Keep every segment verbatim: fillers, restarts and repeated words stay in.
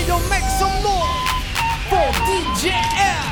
Yo, make some noise for D J L.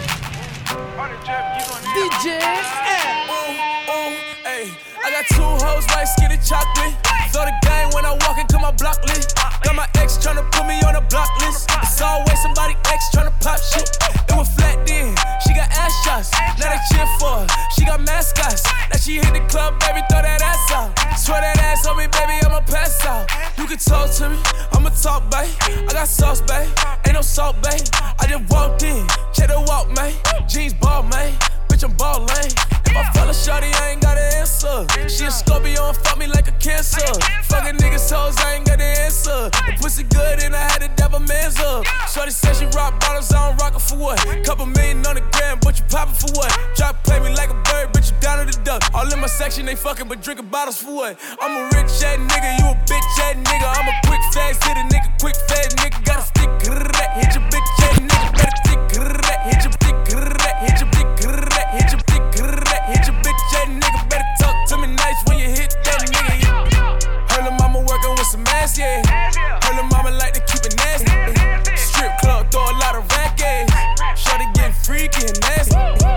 D J L. Ooh, ooh, ayy. I got two hoes like skinny chocolate. Throw the game when I walk into my block list. Got my ex tryna put me on a block list. It's always somebody ex tryna pop shit. It was flat then, she got ass shots. Now they cheer for her, she got mascots. Now she hit the club, baby, throw that ass out. Swear that ass on me, baby, I'ma pass out. You can talk to me, I'ma talk, babe. I got sauce, babe, ain't no salt, babe. I just walked in, check the walk, man. Jeans ball, man, bitch, I'm ballin'. If I fell a shawty, I ain't got an answer. She a Scorpio and fuck me like a cancer. Fucking niggas hoes, I ain't got the answer. The pussy good and I had to dab a man's up. Shorty said she rock bottles, I don't rock it for what? Couple million on the gram, but you poppin' for what? Drop play me like a bird, bitch, you down to the duck. All in my section, they fucking, but drinking bottles for what? I'm a rich ass nigga, you a bitch ass nigga. I'm a quick fast hit a nigga, quick fast nigga. Gotta stick, hit your bitch ass nigga. Better stick, hit your dick, hit your dick, hit your dick, hit your bitch ass nigga. Better talk to me nice when you hit that nigga. Yeah. Her lil' mama working with some ass, yeah. Her lil' mama like to keep it nasty. Strip club, throw a lot of rack, yeah. Shorty getting freaky and nasty.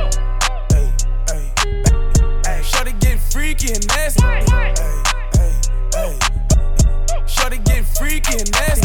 Ay, ay, ay. Shorty getting freaky and nasty. Ay, ay, ay. Shorty getting freaky and nasty.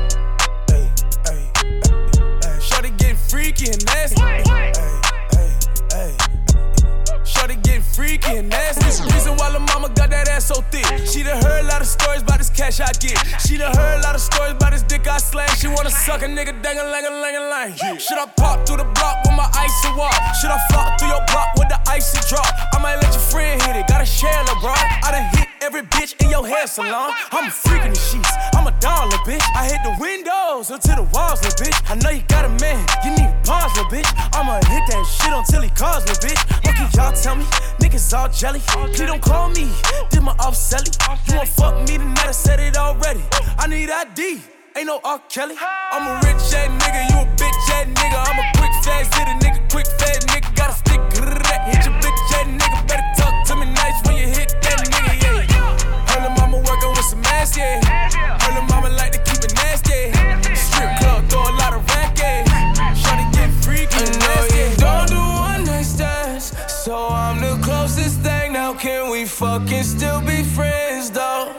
Ay, ay, ay. Shorty getting freaky and nasty. Ay, ay, ay. Shorty getting freaky and nasty. Reason why lil' mama got that ass so thick. She done heard a lot of stories about this cash I get. She done heard a lot of stories about this dick I slang. She wanna suck a nigga dang-a-lang-a-lang-a-lang. Should I pop through the block with my icy walk? Should I flop through your block with the icy drop? I might let your friend hit it, gotta share it, bro. I done hit every bitch in your hair salon. I'm a freak in the sheets, I'm a dollar, bitch. I hit the windows until the walls, little bitch. I know you got a man, you need pause, little bitch. I'ma hit that shit until he calls, little bitch. What can y'all tell me? Niggas all jelly. Please don't call me, did my off selly. You won't fuck me tonight, I said it already. I need I D, ain't no R. Kelly. I'm a rich ass nigga, you a bitch ass nigga. I'm a quick fast hit a nigga, quick fast nigga. Gotta stick, hit your bitch ass nigga. Better talk to me nice when you hit that nigga, yeah. Her lil' mama working with some ass, yeah. Her lil' mama like to keep it nasty. Strip club, throw a lot of rack, yeah. Shawty get freaky and nasty. Don't do one night stands, so I'm the closest thing. Now can we fucking still be friends, though?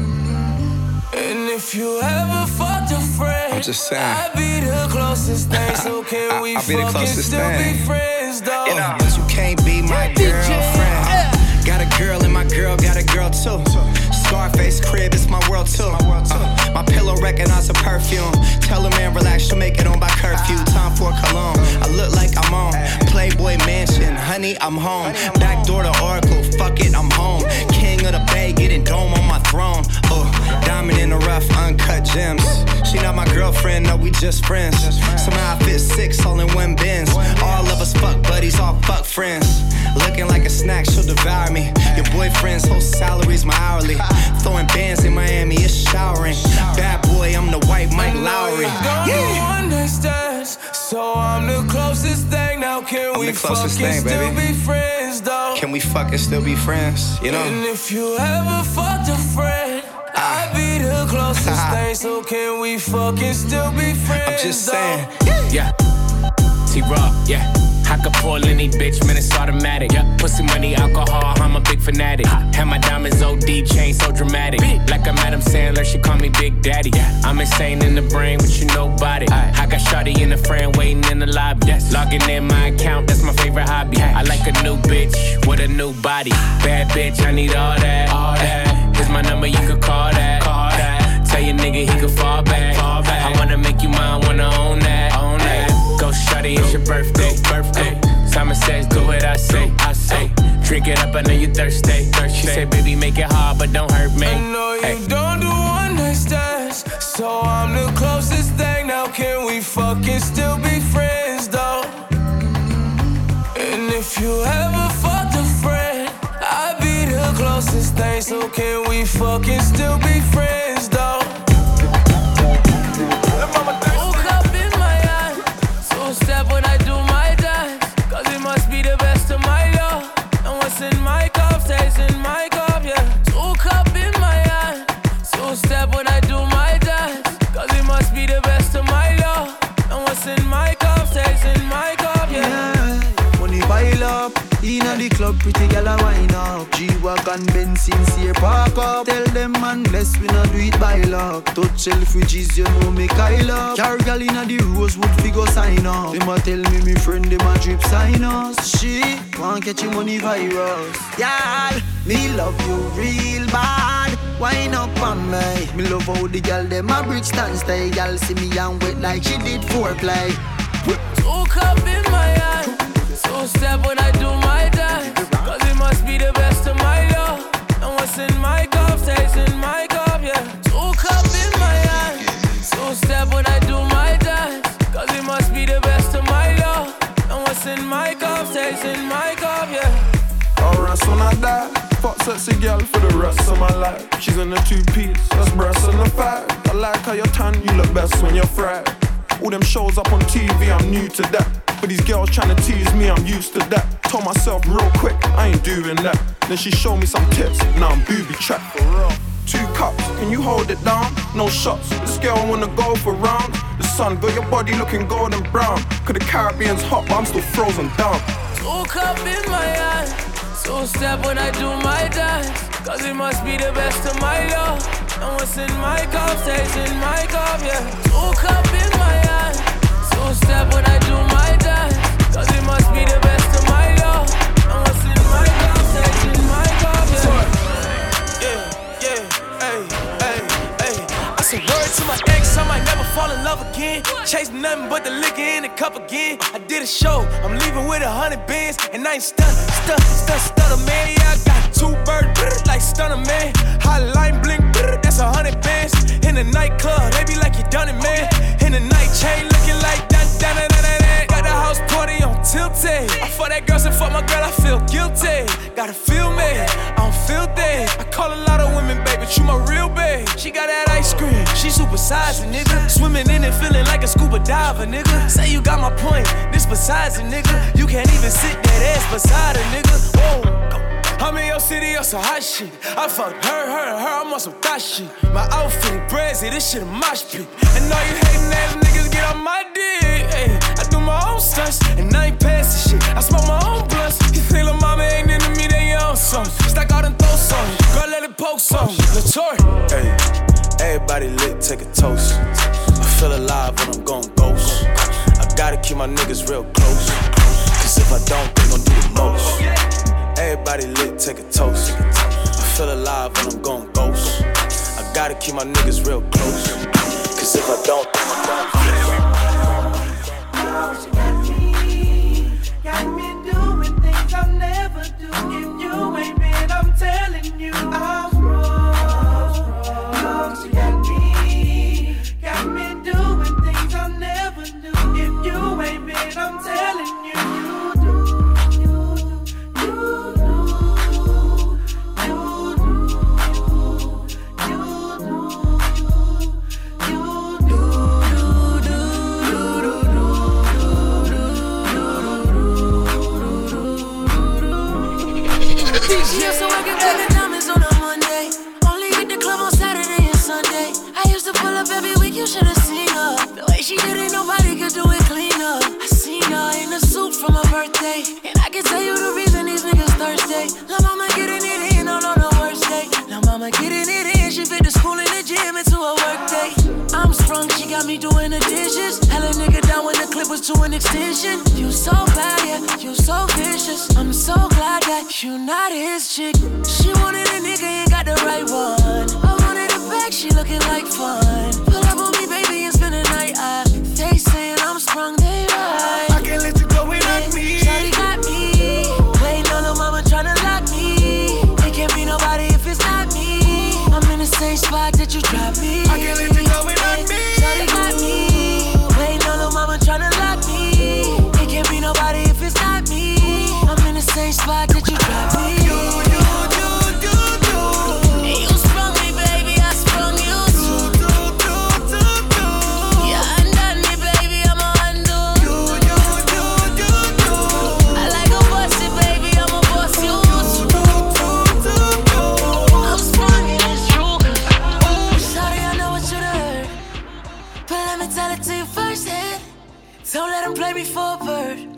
And if you ever fucked a friend, I'm just saying, I'd be the closest thing. So can we I'll be the fucking closest still thing. be friends, though? You know, but you can't be my girlfriend. Got a girl and my girl got a girl too. Scarface crib, it's my world too. Uh, my pillow recognize a perfume. Tell a man relax, she'll make it on by curfew. Time for cologne, I look like I'm on Playboy Mansion, honey, I'm home. Back door to Oracle, fuck it, I'm home. King of the Bay, getting dome on my throne. Uh, diamond in the rough, uncut gems. She not my girlfriend, no, we just friends. Somehow I fit six all in one Benz. All of us fuck buddies, all fuck friends. Looking like a snack, she'll devour me. Your boyfriend's whole salary's my hourly. Throwing bands in Miami, it's showering. Bad boy, I'm the white Mike Lowry. Yeah. One night stands, so I'm the closest thing. Now can I'm we the closest fucking thing, still baby. be friends, though? Can we fucking still be friends? You know? And if you ever fucked a friend, I'd be the closest thing. So can we fucking still be friends? I'm just saying. Though? Yeah. T-Raw, yeah. I could pull any bitch, man, it's automatic. Yeah. Pussy, money, alcohol, I'm a big fanatic. Have my diamonds O D, chain so dramatic. Like I'm Adam Sandler, she call me Big Daddy. Yeah. I'm insane in the brain, but you nobody. I got shawty in the frame, waiting in the lobby. Yes. Logging in my account, that's my favorite hobby. I like a new bitch with a new body. Bad bitch, I need all that. All that. Here's my number, you could call that. Call that. Tell your nigga he could fall back. Fall back. I wanna make you mine, wanna own that. Own that. Go shawty, it's your birthday. Birthday. Simon says, do what I say. I say. Drink it up, I know you thirsty. thirsty. She said, baby, make it hard, but don't hurt me. I know you hey. don't do one night stands, so I'm the closest thing. Now can we fucking still be friends, though? And if you ever fucked a friend, I'd be the closest thing. So can we fucking still be friends, though? Woke up in my eyes, so step when I do my dance, cause it must be the best of my love. And what's in my cup stays in my cup, yeah. Woke up in my eyes, so step when I do my dance, cause it must be the best inna the club, pretty girl a wine up. G-Wagon, Benz, sincere, park up. Tell them man, bless we not do it by luck. Touch Selfridges, you know me Kyle up. Car girl inna the Rosewood, figure sign up. Them a tell me, me friend, them a drip sign us. She want catch your money virus. Y'all, me love you real bad. Wine up on me. Me love how the girl them a bridge stand stay. Y'all see me and wet like she did foreplay. Two cup in my hand, two step when I do my dance. Cause it must be the best of my love. And what's in my cup stays in my cup, yeah. Two cup in my hand, two step when I do my dance. Cause it must be the best of my love. And what's in my cup stays in my cup, yeah. Alright, when I die, fuck sexy girl for the rest of my life. She's in a two-piece, that's breasts and a five. I like how you're tan, you look best when you're fried. All them shows up on T V, I'm new to that. But these girls tryna tease me, I'm used to that. Told myself real quick, I ain't doing that. Then she showed me some tips, now I'm booby trapped for real. Two cups, can you hold it down? No shots, this girl wanna go for round. The sun got your body looking golden brown. Cause the Caribbean's hot, but I'm still frozen down. Two cup in my hand, two step when I do my dance. Cause it must be the best of my love. And what's in my cup stays in my cup, yeah. Two cup in my hand, two step when I do my dance. Cause it must be the best of my love. And what's in my cup stays in my cup, yeah. Yeah, yeah, hey, hey, hey. I said word to my ex, I might never fall in love again. Chase nothing but the liquor in the cup again. I did a show, I'm leaving with a hundred bands. And I ain't stun, stun, stun, stunner, man. Yeah, I got two birds, like stunner, man. Hotline blink, that's a hundred bands. In the nightclub, they be like you done it, man. In the night chain, looking like that, that, that, that, that. Got the house party on tilted. I fuck that girl, so fuck my girl, I feel guilty. Gotta feel me, I don't feel that. I call a lot of women, baby, but you my real babe. She got that ice cream, she super size, nigga. Swimming in it, feeling like a scuba diver, nigga. Say you got my point, this besides a nigga. You can't even sit that ass beside a nigga. Whoa. I'm in your city on some hot shit. I fucked her, her, her, I'm on some thot shit. My outfit brazy, this shit a mosh pit. And all you hating ass niggas get on my dick. Ay, I do my own stunts, and I ain't passing shit. I smoke my own blunts. You think lil' mama ain't into me, they your own son. Stack out and throw some, girl let it poke some. Latour. Hey, everybody lit, take a toast. I feel alive when I'm going ghost. I gotta keep my niggas real close. Cause if I don't, they gon' do the most. Everybody lit, take a toast. I feel alive when I'm going ghost. I gotta keep my niggas real close. Cause if I don't, she got me, got me doing things I'll never do. If you ain't been, I'm telling you, I'm wrong. She got me, got me doing things I'll never do. If you ain't been, I'm telling you, you do, you do, you do. She used to work at Diamond Diamonds on a Monday. Only hit the club on Saturday and Sunday. I used to pull up every week, you should've seen her. The way she did it, nobody could do it cleaner. I seen her in a suit for my birthday, and I can tell you the reason these niggas thirsty. Lil' mama getting it in on, on the worst day. Lil' mama getting it in, she fit the school and the gym into a work day. I'm sprung, she got me doing the dishes. Hella nigga down when the clip was to an extension. You so bad, yeah, you so vicious. I'm so glad that you not his chick. She wanted a nigga, ain't got the right one. I wanted a bag, she looking like fun. Pull up on me, baby, and spend the night. I, they saying I'm sprung, they right. I can't let you go without me. Shawty got me, waiting on the mama tryna lock me. It can't be nobody if it's not me. I'm in the same spot that you dropped me. I can't let you go without me. Shawty got me, waiting on the mama tryna lock me. It can't be nobody if it's not me. I'm in the same spot that you dropped me. You, you, you, you, you. And you sprung me, baby, I sprung you too. Do, do, do, do. Yeah, undone me, baby, I'm a undo. You, you, you, you, you. I like a busted, baby, I'm a bust you too. Do, do, do, do. I'm sprung and it's true. Ooh, sorry, I know what you heard, but let me tell it to you firsthand. Don't let him play me for a bird.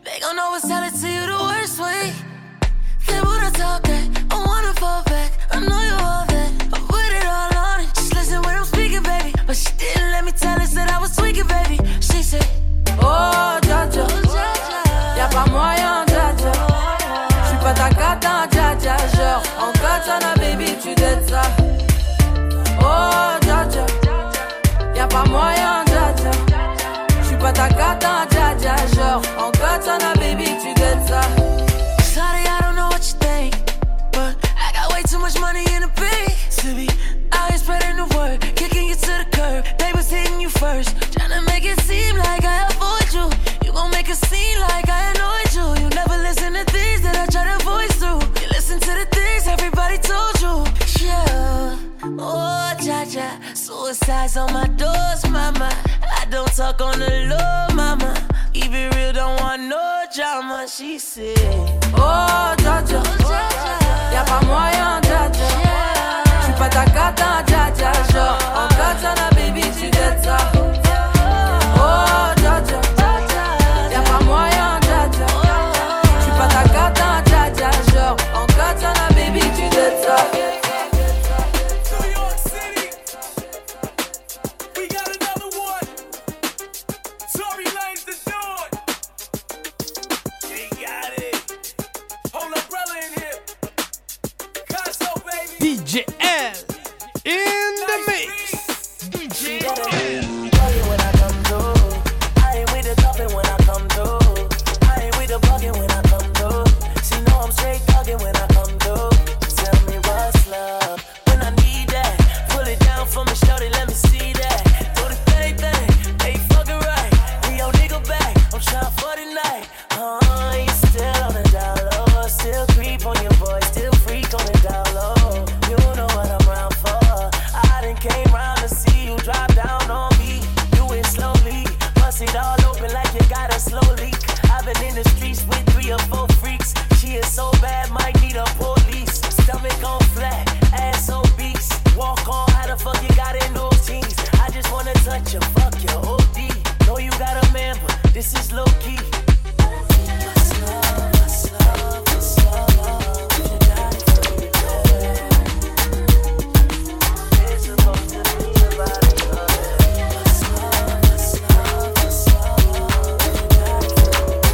They gon' always tell it to you the worst way. They wanna talk back, I wanna fall back. I know you all that, I put it all on it. Just listen when I'm speaking, baby. But she didn't let me tell her that I was tweaking, baby. She said, oh, Jaja, y'a pas moyen, Jaja. J'suis pas ta cata, Jaja. Genre, en katana, baby, tu dettes ça. Oh, Jaja, y'a pas moyen, Jaja. J'suis pas ta cata, Jaja. Genre, en katana, baby, tu dettes ça. Sorry, I don't know what you think, but I got way too much money in the bank to be out here spreading the word, kicking you to the curb. They was hitting you first, tryna make it seem like I avoid you. You gon' make it seem like I annoyed you. You never listen to things that I try to voice through. You listen to the things everybody told you. Yeah, oh, Jaja, suicide's on my doors, mama. I don't talk on the low, mama. Keep it real, don't want no drama, she said. Oh, Jaja, y'a pas moyen, Jaja. J'suis pas ta cata, Jaja. Genre, en katana, baby, tu dettes ça. Oh, Jaja, y'a pas moyen, Jaja. J'suis pas ta cata, Jaja. Genre, en katana, baby, tu dettes ça. D J L in the mix. D J L. When I come through, I ain't with the talking when I come through. I ain't with the bugging when I come through. She know I'm straight talking when I come through. Tell me what's love when I need that. Pull it down for me, shorty, let me see that. Do the thing thing, hey fucking right. Bring your nigga back, I'm trying for the night. Uh, you still on the down low, still creep on your boy, still freak on the down low. You know what I'm round for. I done came round to see you drop down on me. Do it slowly, bust it all open like you got a slow leak. I've been in the streets with three or four freaks. She is so bad, might need a police. Stomach on flat, ass obese. Walk on, how the fuck you got in those jeans? I just wanna touch you, fuck you, O D. Know you got a man, but this is low key. What's love, what's love, what's love? You got it for me, baby. It's supposed to be about it, what's love, what's love, what's love? You got it for me,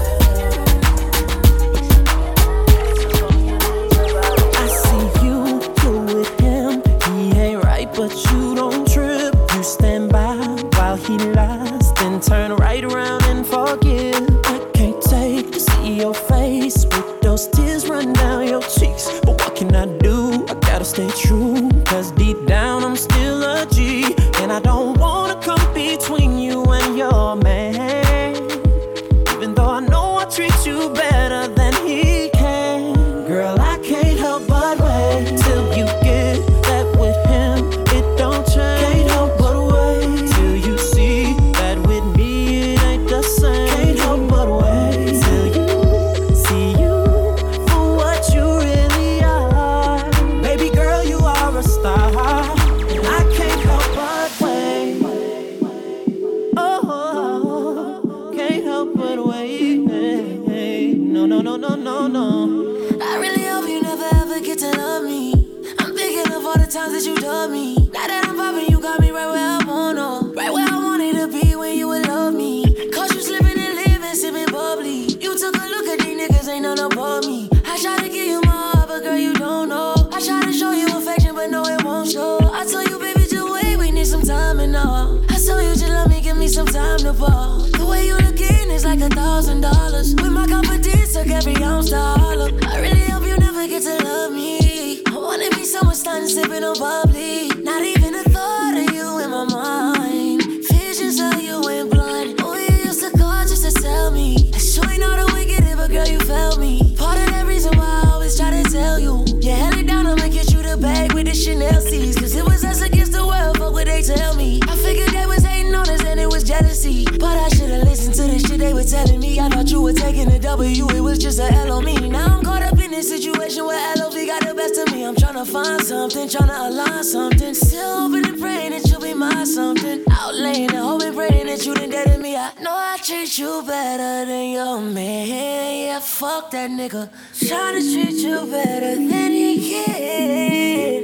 baby. I see you, you with him. He ain't right, but you don't trip. You stand by while he lies, then turn right around and forgive. I can't take to see your face with those tears run down your cheeks. But what can I do? I gotta stay true, cause deep down I'm still a G. And I don't wanna come between you and your man, even though I know I treat you better than he can. Girl, I can't help but wait till you get that with him. It don't change. Can't help but wait till you see that with me it ain't the same. Can't help but wait till you see you for what you really are. Baby girl, you are a star, and I can't help but wait. Oh, can't help but wait. No, no, no, no, no, no. I really hope you never ever get to love me. I'm thinking of all the times that you done me. Now that I'm popping, you got me right where I wanna, right where I wanted to be when you would love me. Cause you slipping and living, sipping bubbly. You took a look at these niggas, ain't none above me. I try to give you my heart, but girl, you don't know. I try to show you affection, but no, it won't show. I told you, baby, just wait, we need some time and all. I told you, just love me, give me some time to ball. The way you looking is like a thousand dollars. With my confidence, took every ounce to holler. I really hope you never get to love me. I wanna be someone starting sipping on bubbly. Not even a thought of you in my mind. Visions of you in blood. Oh, you used to call just to tell me. I sure ain't all the wicked, but girl, you felt me. Part of that reason why I always try to tell you. You held it down, I'ma get you the bag with the Chanel C's. Cause it was us against the world, fuck what they tell me. I figured they was hating on us and it was jealousy. But I should've listened to the shit they were telling me. I thought you were taking a W, it was just a L on me. Now I'm caught up in this situation where L O V got the best of me. I'm tryna find something, tryna align something. Still hoping and praying that you'll be my something. Out laying and hoping, praying that you didn't dead in me. I know know I treat you better than your man. Yeah, fuck that nigga. Tryna treat you better than he can.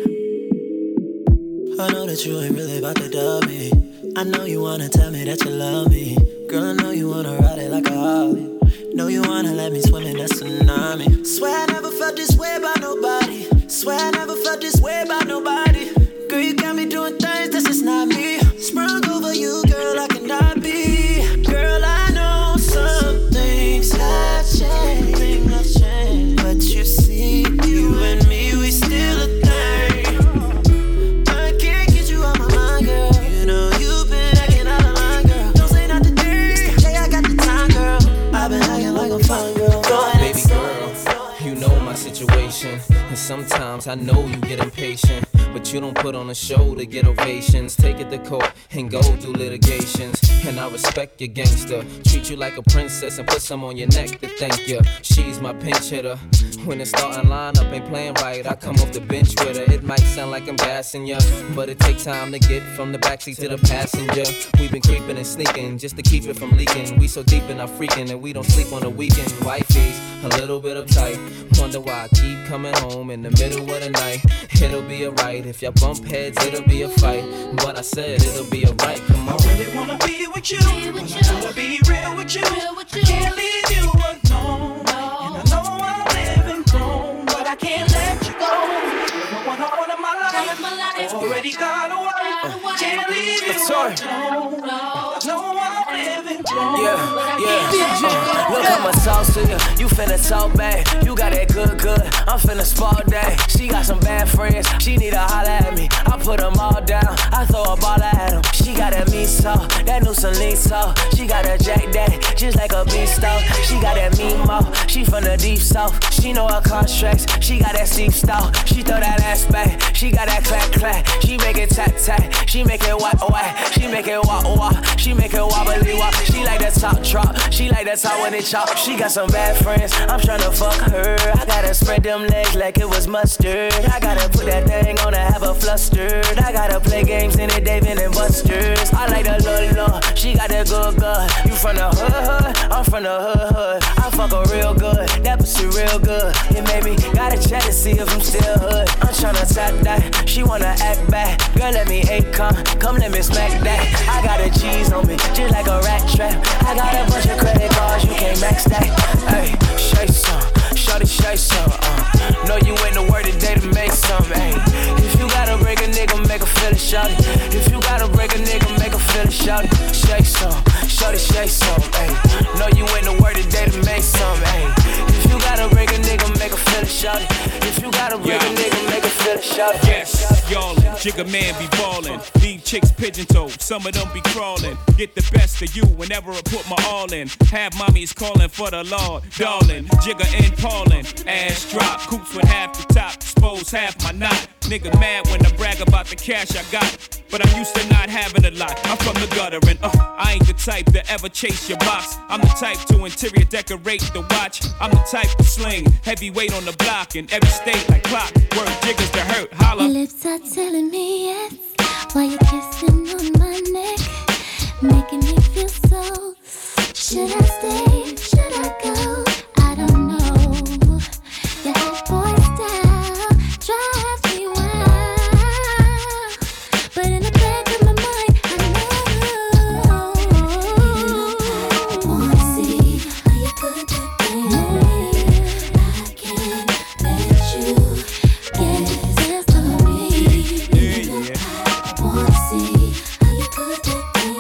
I know that you ain't really about to dub me. I know you wanna tell me that you love me. Girl, I know you wanna ride it like a Harley. Know you wanna let me swim in that tsunami. Swear I never felt this way about nobody. Swear I never felt this way about nobody. Girl, you got me doing things that's just not me. Sprung over you, girl, I cannot be. Girl, I know some things have changed, things have changed. But you see, you and me, we still a thing. I can't get you out my mind, girl. You know you've been acting out of line, girl. Don't say not today. Hey, I got the time, girl. I've been acting like I'm fine, girl. Go ahead, baby girl, you know my situation. And sometimes I know you get impatient, but you don't put on a show to get ovations. Take it to court and go through litigations. And I respect your gangster. Treat you like a princess and put some on your neck to thank you. She's my pinch hitter. When the starting lineup ain't playing right, I come off the bench with her. It might sound like I'm gassing ya, but it takes time to get from the backseat to the passenger. We've been creeping and sneaking just to keep it from leaking. We so deep in our freaking and we don't sleep on the weekend. Wifey's a little bit uptight. Wonder why I keep coming home in the middle of the night. It'll be alright. If y'all bump heads, it'll be a fight. But I said it'll be alright. Come on. I really wanna be with you. Be with you. I wanna be real with you. Real with you. I can't leave you alone. No. And I know I'm living wrong, but I can't let you go. You're the one I want in my life. My life. Already got away. Can't leave you alone. No. I know I'm living wrong. Yeah, yeah. Look, I'ma talk to you. You finna talk back. You got that good, good. I'm finna sport that. She got some bad friends. She need to holler at me. I put them all down. I throw a ball at them. She got that meat sauce, that new Celine sauce. She got a Jack Daddy, just like a beast sauce. She got that meat mouth. She from the deep south. She know her contracts. She got that steep style. She throw that ass back. She got that clack clack. She make it tap tap. She make it whack whack. She make it walk walk. She make it wobbly wop. She like that top drop. She like that top when it chop. She got some bad friends. I'm tryna fuck her. I gotta spread them legs like it was mustard. I gotta put that thing on and have her flustered. I gotta play games in it, David and Buster's. I like the little love. She got that good good. You from the hood hood? I'm from the hood hood. I fuck her real good. That pussy real good. It made me gotta check to see if I'm still hood. I'm tryna tap that. She wanna act back. Girl, let me hate come. Come let me smack that. I got a cheese on me, just like a rat trap. I got a bunch of credit cards, you can't max that. Hey, shake some, shorty shake some. Uh, know you ain't the word today to make some. Hey, if you gotta break a nigga, make a feel it, shorty. If you gotta break a nigga, make a feel it, shorty. Shake some, shorty shake some. Hey, know you ain't the word today to make some. Hey, if you gotta break a nigga, make a feel it, shorty. If you gotta break yeah. a nigga, make a feel it, shorty. Yes, y'all, Jigga man be ballin'. Leave chicks pigeon-toed, some of them be crawling. Get the best of you whenever I put my all in. Have mommies calling for the Lord, darling. Jigga and Paulin', ass drop. Coops with half the top, expose half my knot. Nigga mad when I brag about the cash I got, but I'm used to not having a lot. I'm from the gutter and uh, I ain't the type to ever chase your box. I'm the type to interior decorate the watch. I'm the type to sling heavyweight on the block in every state like clock. Word jiggers to hurt, holla. Your lips are telling me yes, while you're kissing on my neck, making me feel so. Should I stay? Should I go? I don't know. Your hot boy style drives me wild, but in the back of my mind, I know. I wanna see how you put that thing. I can't let you get this to me. I wanna see how you put that thing.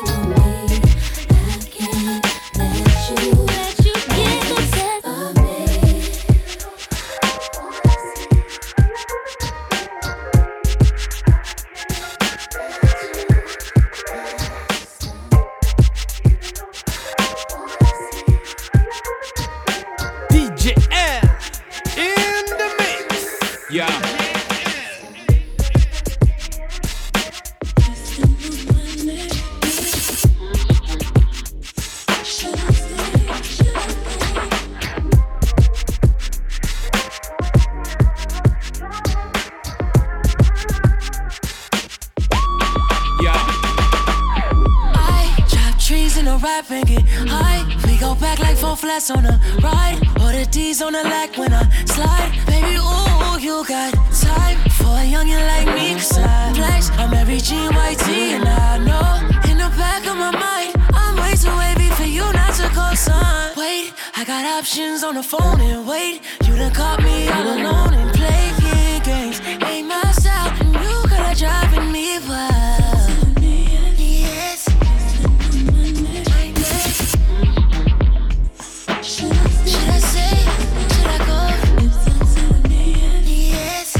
in a rap and get high. We go back like four flats on a ride, or the D's on the leg when I slide. Baby, ooh, you got time for a youngin' like me, cause I flex. I'm every G Y T and I know in the back of my mind I'm way too wavy for you not to go, son. Wait, I got options on the phone and wait. You done caught me all alone and playing games. Ain't my style and you got her driving me wild. Yes. Should I say? Should I go? Yes.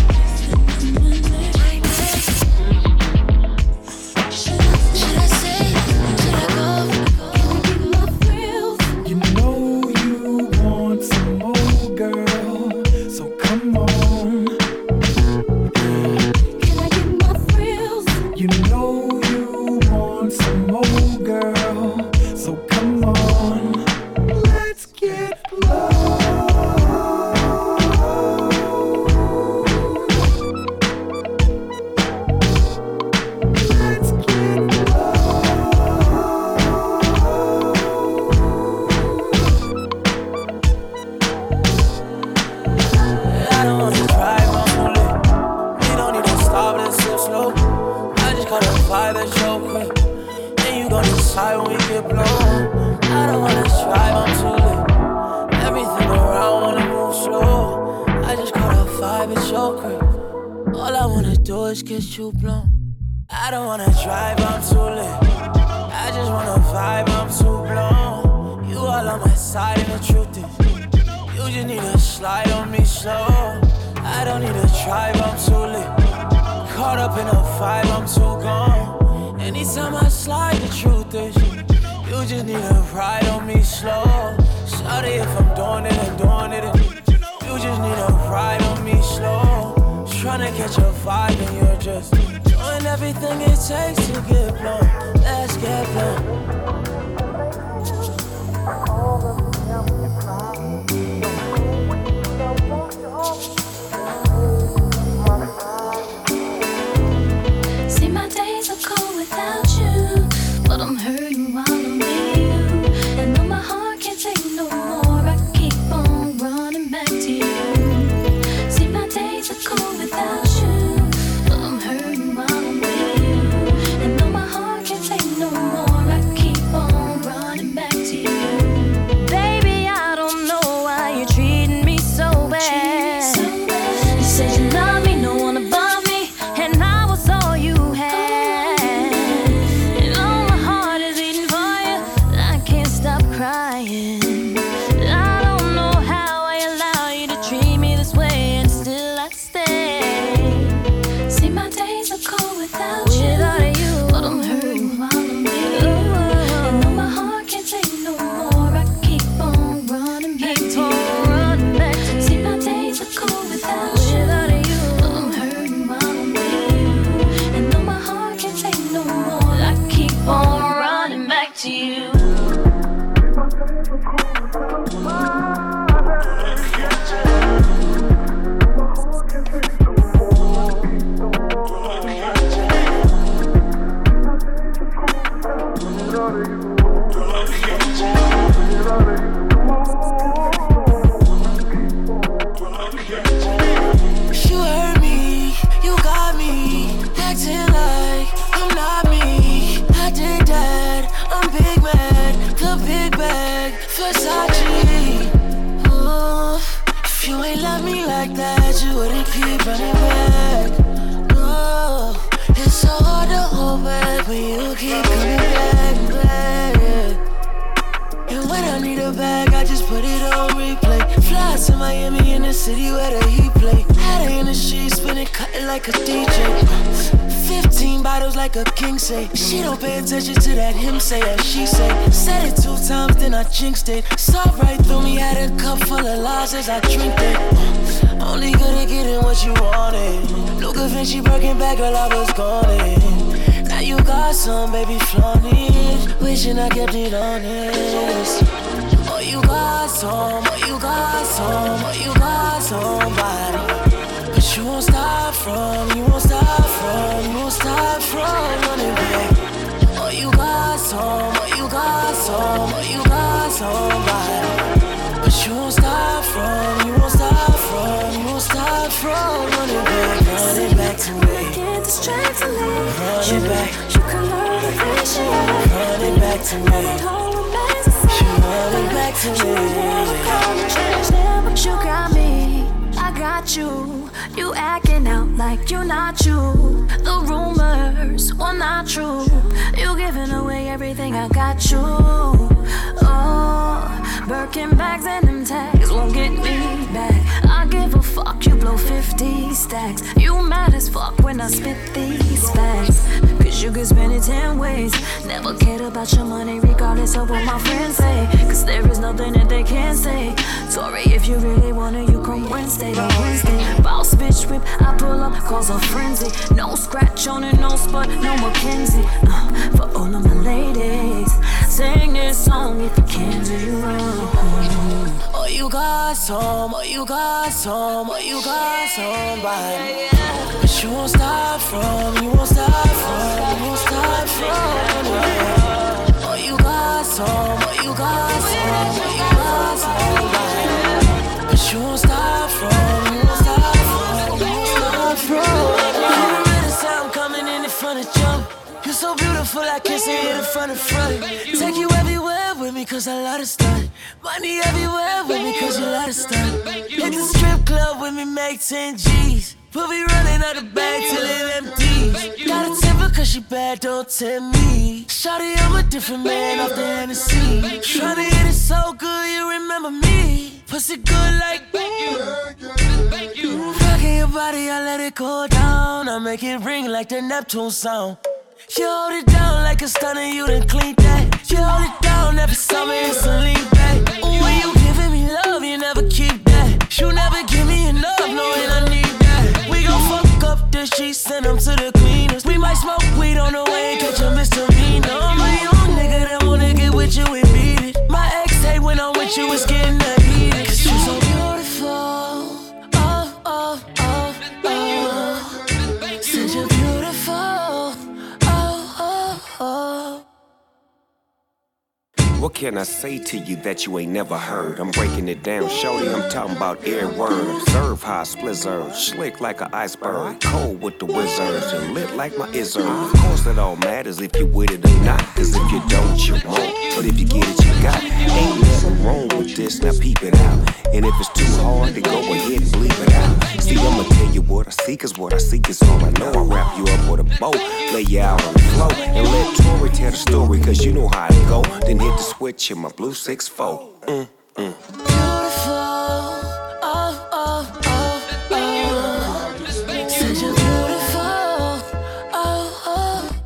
Should I say? Should I go? You know you want some more, girl, so come on. Can I get my thrills? You know you want some more, girl, so come on. Let's get low. Let's get I don't wanna drive, I'm on it. We don't need to stop, let's sit slow. I just caught a vibe that's so quick. And you gon' decide when we get blown. I don't wanna drive, I'm too lit. Everything around wanna move slow. I just caught a vibe, it's so quick. All I wanna do is get you blown. I don't wanna drive, I'm too lit. I just wanna vibe, I'm too blown. You all on my side and the truth is you just need to slide on me slow. I don't need to drive, I'm too lit. Caught up in a vibe, I'm too gone. Anytime I slide, the truth is you just need to ride on me slow. Sorry if I'm doing it, I'm doing it. You just need to ride on me slow. Tryna catch a vibe and you're just doing everything it takes to get blown. Let's get blown. See, my days are cold without you, but I'm hurting while I'm with you. And though my heart can't take no more, I keep on running back to you. See, my days are cold without you, but I'm hurting while I'm with you. And though my heart can't take no more, I keep on running back to you. Baby, I don't know why you're treating me so bad. You said you love me, no one above me, and I was all you had. And all my heart is beating for you, I can't stop crying. I don't know how I allow you to treat me this way, and still I stay. See, my days are cold without you, but I'm hurting while I'm with you. And though my heart can't take no more, I keep on running back to you. See, my days are cold without you, but I'm hurting while I'm with you. And though my heart can't take no more, I keep on running back to you. You hurt me, you got me acting like I'm not me. I did that, I'm big mad, the big bag, Versace. Oh, if you ain't love me like that, you wouldn't keep running back. No, it's so hard to hold back when you keep coming back, back. And when I need a bag, I just put it on replay. Fly to Miami in the city where the heat play. Had her in the streets, spinning, cutting like a D J. Fifteen bottles like a king say. She don't pay attention to that him say that she say. Said it two times, then I jinxed it. Saw right through me, had a cup full of lies as I drink it. Only good at getting what you wanted. Luca Vinci, Birkin bag, girl, I was gone it. Now you got some, baby, flaunt it. Wishing I kept it honest. Oh, you got some, oh, you got some, oh, you got somebody. But you won't stop from, you won't stop from, you won't stop from running back. Oh, you got some, oh, you got some, oh, you got somebody. But you won't stop from, you won't stop from, you won't stop from running back, running back to me. Get the strength to leave. Running back. You can learn to appreciate. Running back to me. It all remains the same. Running back to me. Change them, but you got me. I got you. You acting out like you're not you. The rumors were not true. You giving away everything, I got you. Oh, Birkin bags and them tags won't get me back. I give a fuck, you blow fifty stacks. You mad as fuck when I spit these facts. Cause you could spend it ten ways. Never cared about your money regardless of what my friends say. Cause there is nothing that they can't say. Sorry, if you really want it, you come Wednesday to Wednesday. Boss bitch whip, I pull up, cause a frenzy. No scratch on it, no spot, no Mackenzie. uh, For all of my ladies, sing this song if you can, do you wrong. Oh, you got some, oh, you got some, oh, you got somebody. But you won't stop from, you won't stop from, you won't stop from. Oh, you got some, oh, you got some, oh, you got somebody. But you won't stop from, you won't stop from, you won't stop from. You already saw I'm coming in the front of jump. You're so beautiful, I can't see it in front of front. Take you everywhere with me, cause I love to stunt. Money everywhere with me, cause you love to stunt. Hit the strip club with me, make ten G's. We'll be running out the bag till it empties. Got a temper cause she bad, don't tempt me. Shawty, I'm a different man off the Hennessy. Tryna hit it so good, you remember me. Pussy good like you. Rocking your body, I let it go down. I make it ring like the Neptune sound. You hold it down like a stunner, you done clean that. You hold it down every summer, it's a lean back. Ooh, when you giving me love, you never keep that. You never give me enough, knowing I need that. We gon' fuck up the sheets, send them to the cleaners. We might smoke weed on the way and catch a misdemeanor. I'm a young nigga that wanna get with you and beat it. My ex hate when I'm with you, it's getting that heated. Cause you're so beautiful, oh, oh, oh, oh. Said you're beautiful. Oh. What can I say to you that you ain't never heard? I'm breaking it down, shorty, I'm talking about every word. Observe how I splizzard, slick like an iceberg. Cold with the wizards and lit like my izzard. Of course it all matters if you with it or not. Cause if you don't, you won't. But if you get it, you got. Ain't nothing wrong with this, now peep it out. And if it's too hard, then go ahead and bleep it out. See, I'ma tell you what I see, cause what I seek is all I know. I wrap you up with a bow, lay you out on the floor, and let Tori tell the story, cause you know how it go. Then hit the switch in my blue six four. Mm, mm. Beautiful, oh, oh, oh, oh. Said you're beautiful, oh, oh.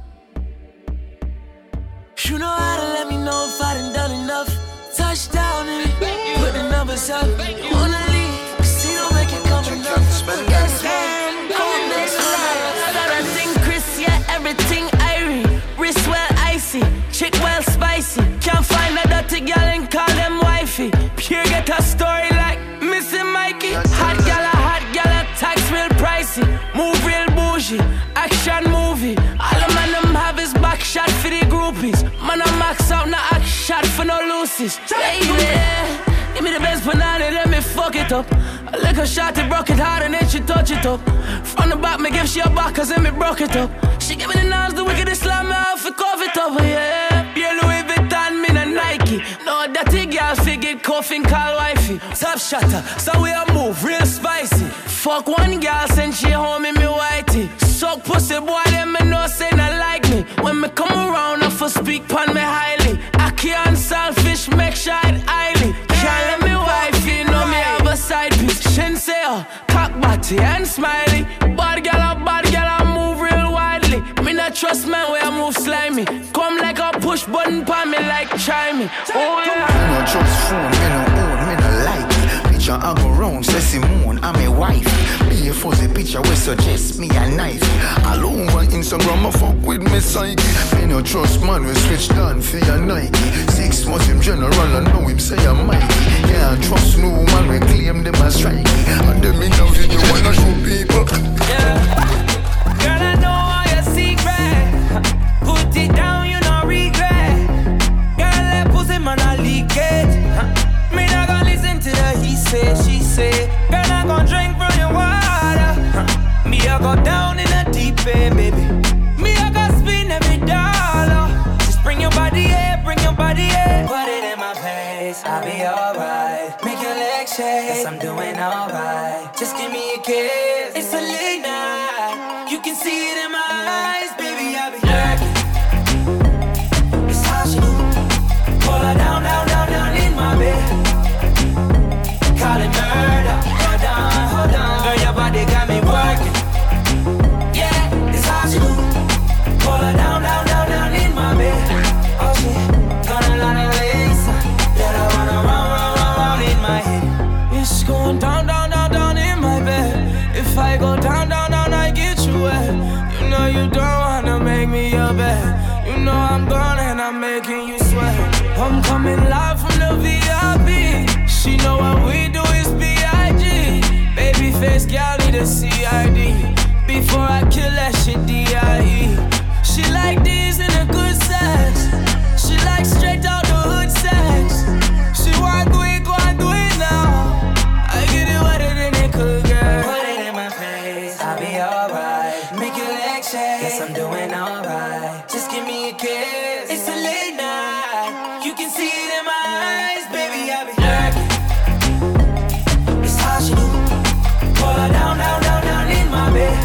You know how to let me know if I done done enough. Touchdown in it, put the numbers up. You wanna leave, casino make it come enough. Yes, man, come next round. I got a thing, Chris, yeah, everything irie. Wrist well icy, chick well spicy. Can't find a dirty girl and call them wifey. Pure get a story like Missy Mikey. Hot gala, hot gala, tax real pricey. Move real bougie, action movie. All the man them have is back shot for the groupies. Man I max out, no act shot for no loosies. Baby, give me the best banana, let me fuck it up. I lick her shot, it broke it hard and then she touch it up. From the back, me give she a back, cause then me broke it up. She give me the knives, the wickedest slam me off, it cough it up, yeah. Yeah, Louis Vuitton, me na Nike. No, that girl figure coughing, call wifey. Top shatter, so we a move, real spicy. Fuck one girl, send she home in me whitey. Suck pussy, boy, them me know say not like me. When me come around, I for speak pon me highly. I can't selfish, make sure it highly. Can't let me wifey, know me have a side piece. Shinseo, cock body and smiley. Bad girl, a bad girl, I move real widely. Me not trust man where I move slimy. Come like a push button pon me like chimey. Oh yeah. Me no trust phone, me no own, me no like it. Picture I go round, say Simone, I'm a wife. Me a fuzzy picture we suggest me a knife. All over Instagram I fuck with me psyche. Me no trust man we switch down for your Nike. Six months him general I know him say I'm mighty. Can't trust no man we claim them as strike. And them in now you wanna show people. Yeah. Girl I know all your secret. Put it down you no regret. Girl let Yes, I'm doing alright. Just give me a kiss. It's a late night. You can see it in my eyes, baby. I'll be lurking. It's how she do. Pull her down, down, down, down in my bed. Call it murder. Hold on, hold on. Girl, your body got me working. Yeah, it's how she do. Pull her down, down, down, down in my bed. Oh shit, gonna learn a lesson. Let her run around, run, run, run in my head. It's going down, down, down, down in my bed. If I go down, down, down, I get you wet. You know you don't wanna make me your bed. You know I'm gone and I'm making you sweat. I'm coming live from the V I P. She know what we do is B I G. Baby face gal need a C I D. Before I kill that shit D I E. She like these in a good sex. She like straight out the hood sex. She want do it, go and do it now. I get it wetter than it could get. Put it in my face, I'll be alright. Make your legs shake, yes I'm doing alright. Just give me a kiss, it's a late night. You can see it in my eyes, baby I'll be lurking. It's how she do. Pull her down, down, down, down in my bed.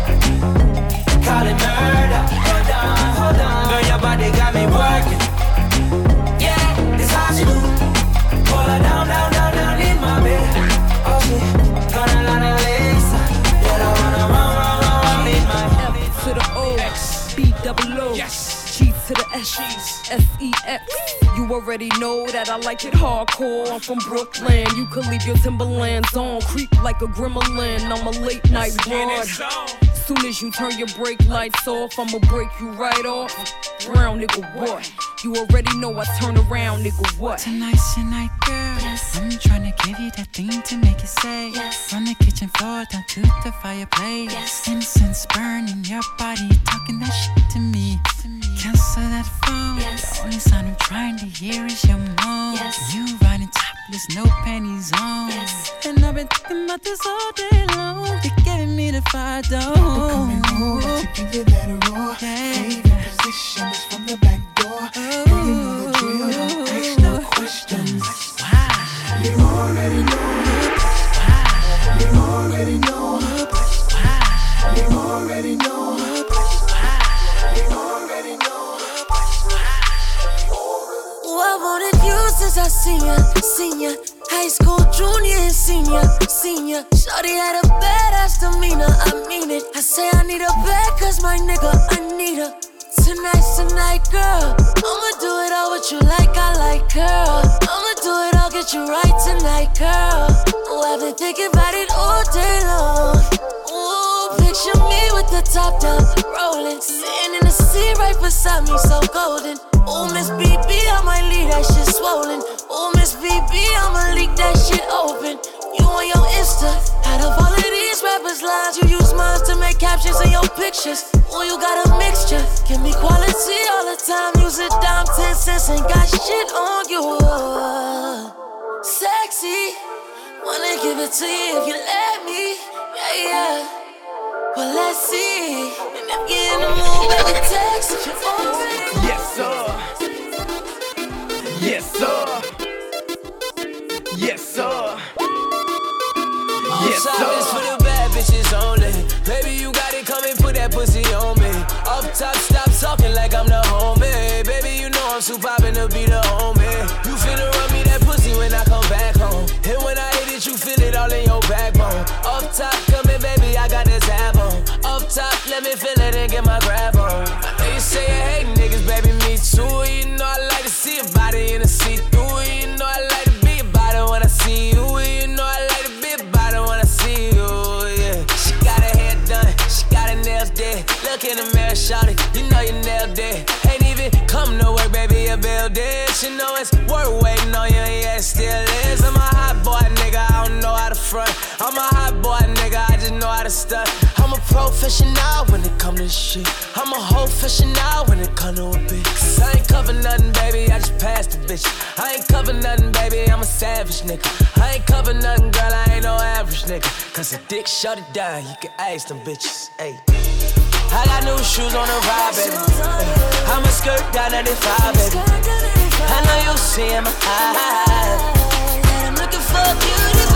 Call it murder. Hold on, hold on. Girl, your body got me working. Yeah, it's how she do. Pull her down, down, down, down in my bed. Oh shit, gonna learn a lesson. Let her run around, run, run, run in my head. F to the O, X, B double O, yes. G to the S, S E X. You already know that I like it hardcore. I'm from Brooklyn. You could leave your Timberlands on, creep like a gremlin. I'm a late night broad. Soon as you turn your brake lights off, I'ma break you right off. Brown nigga, what? You already know I turn around, nigga, what? Tonight's your night, girl. Yes. I'm tryna give you that thing to make it say yes. From the kitchen floor down to the fireplace. Yes. Incense burning your body, talking that shit to me. To me. Cancel that phone. Yes. The only sound I'm trying to hear is your moan. Yes. You riding topless, no panties on. Yes. And I've been thinking about this all day long. You're giving me the fire, though. Coming home, to give you that roar. Favorite position is from the back door. And you know the drill, don't ask no questions. Wow. You already know. Wow. You already know. Wow. You already know. Wow. You already know. Oh, I wanted you since I seen ya, seen ya. High school junior and senior, senior. Shorty had a badass demeanor, I mean it. I say I need a bag cause my nigga, I need her. Tonight's the night, girl. I'ma do it all with you like I like, girl. I'ma do it all, get you right tonight, girl. Oh, I've been thinking about it all day long. Ooh, picture me with the top down, rolling. Sitting in the seat right beside me, so golden. Ooh, Miss B B, I might leave that shit swollen. Ooh, Miss B B, I'ma leak that shit open. You on your Insta, out of all of these rappers' lines, you use mine to make captions in your pictures. Ooh, you got a mixture, give me quality all the time. Use a dime, ten cents, ain't got shit on you. Sexy, wanna give it to you if you let me. Yeah, yeah. Well, let's see. And if you're in the mood, baby, text if you're already. Yes, sir. Yes, sir. Yes, sir. Yes, sir. Top is for the bad bitches only. Baby, you got it, come and put that pussy on me. Up top, stop talking like I'm the homie. Baby, you know I'm too poppin' to be the homie. You finna run me that pussy when I come back home. And when I hit it, you feel it all in your backbone. Up top, come here, baby, I got this tab on. Up top, let me feel it and get my grab on. I know you say you hate niggas, baby, me too. You know I like to see your body in a see-through. You know I like to be about it when I see you. You know I like to be about it when I see you, yeah. She got her hair done, she got her nails dead. Look in the mirror, shout it, you know you nailed it. Ain't even come to work, baby, you build it. She know it's worth waiting on you, yeah, it still is. I'm a hot boy, nigga, I don't know how to front. I'm a hot boy, nigga, I just know how to stunt. I'm a professional when it come to this shit. I'm a whole professional when it come to a bitch. Cause I ain't cover nothing, baby, I just passed the bitch. I ain't cover nothing, baby, I'm a savage nigga. I ain't cover nothing, girl, I ain't no average nigga. Cause a dick shut it down, you can ask them bitches, ayy. I got new shoes on the ride, baby. Ay, I'm a skirt down ninety-five, baby. I know you see in my eyes that I'm looking for a beauty.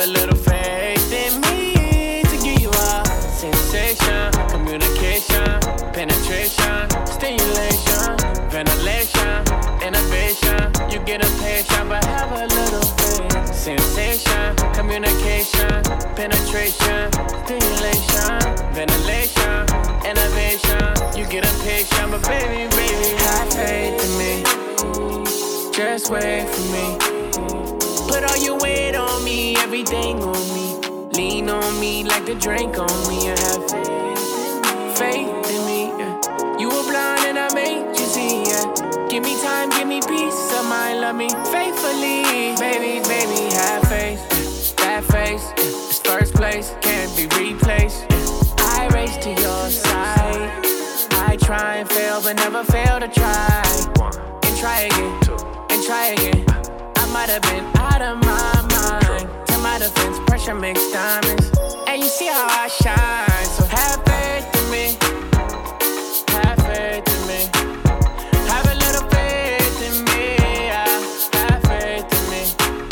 a little faith in me to give you a sensation, communication, penetration, stimulation, ventilation, innovation. You get a patient, but have a little faith. Sensation, communication, penetration, stimulation, ventilation, innovation. You get a patient, but baby, baby, have faith in me. Just wait for me. Put all your weight on me, everything on me. Lean on me like the drink on me. I have faith, faith in me. Yeah. You were blind and I made you see. Yeah. Give me time, give me peace of mind, love me faithfully. Baby, baby, have faith. That face, yeah. It's first place, can't be replaced. Yeah. I race to your side. I try and fail, but never fail to try. And try again, and try again. I might have been out of my mind. To my defense, pressure makes diamonds. And you see how I shine. So have faith in me. Have faith in me. Have a little faith in me. Yeah. Have faith in me.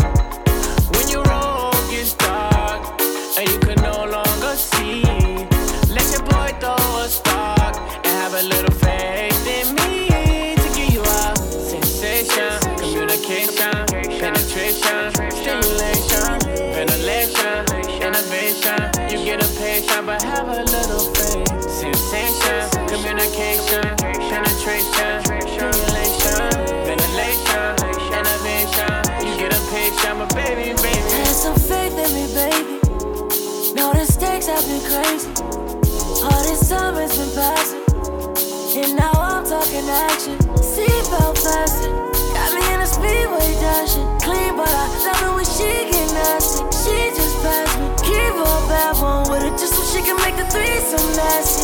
When your road gets dark and you can no longer see, let your boy throw a spark and have a little faith in me to give you a sensation, communication, penetration, stimulation, ventilation, innovation. You get a patient, but have a little faith. Sensation, communication, penetration, stimulation, ventilation, innovation. You get a patient, but baby, baby. Have some faith in me, baby. Know the stakes have been crazy. All this time has been passing, and now I'm talking action. Seatbelt fasten. Got me in a speedway dashing. Clean, but I love it when she get nasty. She just passed me. Keep her bad one with it just so she can make the threesome nasty.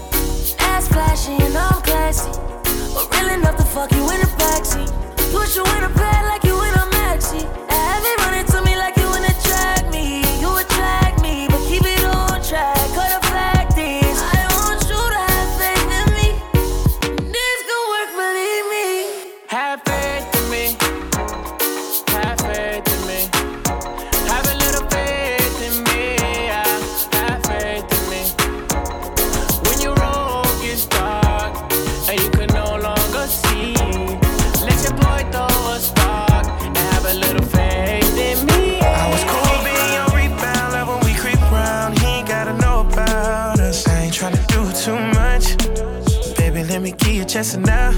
Ass flashy and I'm classy, but real enough to fuck you in the backseat. Put you in a bed like you in a maxi. Have it running to me like you in a track me. You attract me, but keep it on track. Cut a fact is, I want you to have faith in me. This could work, believe me. Have faith in me. Have faith in me. Have a little faith in me. Yeah. Have faith in me. When your road gets dark and you can no longer see, let your boy throw a spark and have a little faith in me. I was cool being your rebound, love when we creep around. He ain't gotta know about us. I ain't tryna do too much. Baby, let me give you just enough.